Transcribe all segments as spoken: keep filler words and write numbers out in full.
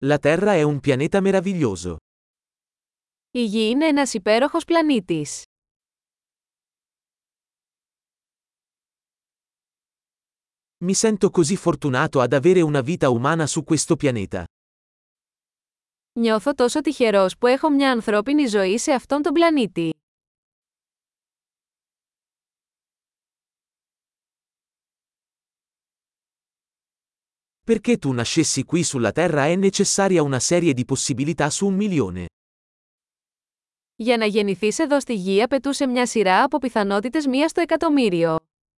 La Terra è un pianeta meraviglioso. Η Γη είναι ένας υπέροχος πλανήτης. Mi sento così fortunato ad avere una vita umana su questo pianeta. Νιώθω τόσο τυχερός που έχω μια ανθρώπινη ζωή σε αυτόν τον πλανήτη. Perché tu nascessi qui sulla Terra è necessaria una serie di possibilità su un milione. Για να γεννηθείς εδώ στη Γη απαιτούσε μια σειρά από πιθανότητες μία στο εκατομμύριο.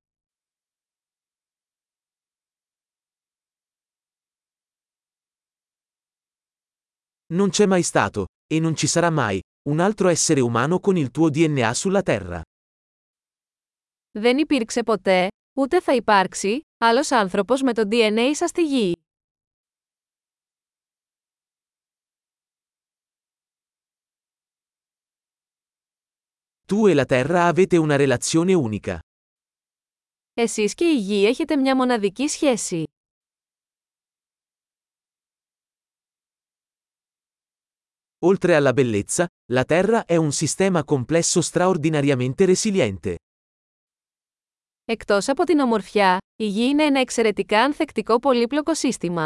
Non c'è mai stato, e non ci sarà mai, un altro essere umano con il tuo D N A sulla Terra. Δεν υπήρξε ποτέ, ούτε θα υπάρξει, άλλος άνθρωπος με το ντι εν έι σας στη Γη. Tu e la Terra avete una relazione unica. Εσείς και η Γη έχετε μια μοναδική σχέση. Oltre alla bellezza, la Terra è un sistema complesso straordinariamente resiliente. Εκτός από την ομορφιά, η Γη είναι ένα εξαιρετικά ανθεκτικό πολύπλοκο σύστημα.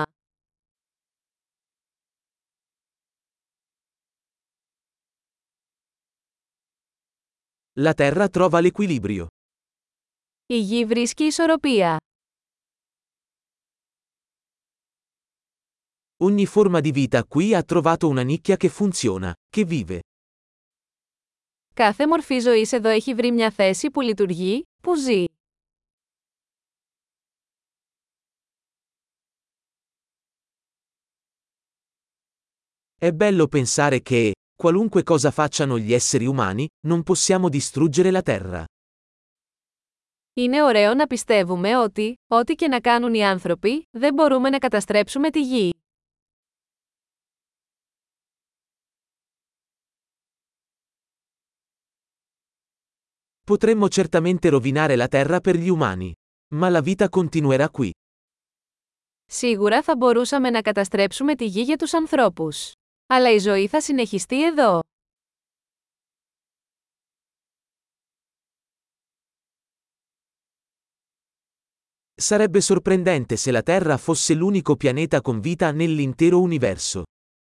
La Terra trova l'equilibrio. Η Γη βρίσκει ισορροπία. Ogni forma di vita qui ha trovato una nicchia che funziona, che vive. Κάθε μορφή ζωής εδώ έχει βρει μια θέση που λειτουργεί, που ζει. È bello pensare che, qualunque cosa facciano gli esseri umani, non possiamo distruggere la Terra. Είναι ωραίο να πιστεύουμε ότι, ό,τι και να κάνουν οι άνθρωποι, δεν μπορούμε να καταστρέψουμε τη Γη. Potremmo certamente rovinare la Terra per gli umani. Ma la vita continuerà qui. Σίγουρα θα μπορούσαμε να καταστρέψουμε τη Γη για τους ανθρώπους. Αλλά η ζωή θα συνεχιστεί εδώ. Sarebbe sorprendente se la Terra fosse l'unico pianeta con vita nell'intero universo.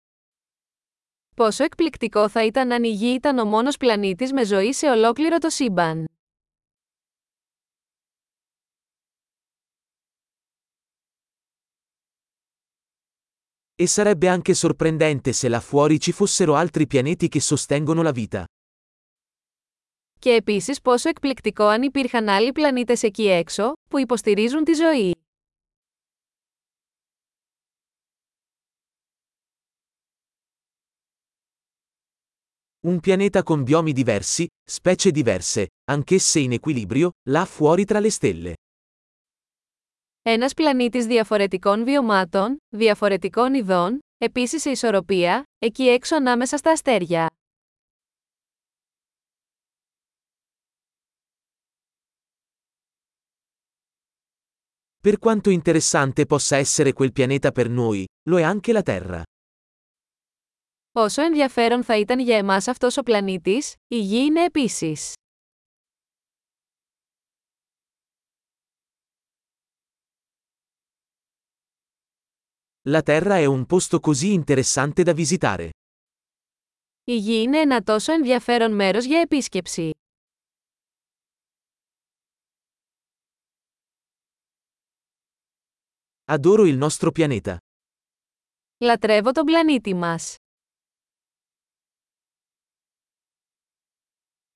Πόσο εκπληκτικό θα ήταν αν η Γη ήταν ο μόνος πλανήτης με ζωή σε ολόκληρο το σύμπαν. E sarebbe anche sorprendente se là fuori ci fossero altri pianeti che sostengono la vita. Και επίσης πόσο εκπληκτικό αν υπήρχαν άλλοι πλανήτες εκεί έξω, που υποστηρίζουν τη ζωή. Un pianeta con biomi diversi, specie diverse, anch'esse in equilibrio, là fuori tra le stelle. Ένας πλανήτης διαφορετικών βιωμάτων, διαφορετικών ειδών, επίσης σε ισορροπία, εκεί έξω ανάμεσα στα αστέρια. Per quanto interessante possa essere quel pianeta per noi, lo è anche la Terra. Όσο ενδιαφέρον θα ήταν για εμάς αυτός ο πλανήτης, η Γη είναι επίσης. La Terra è un posto così interessante da visitare. Η Γη είναι ένα τόσο ενδιαφέρον μέρος για επίσκεψη. Adoro il nostro pianeta. Λατρεύω τον πλανήτη μας.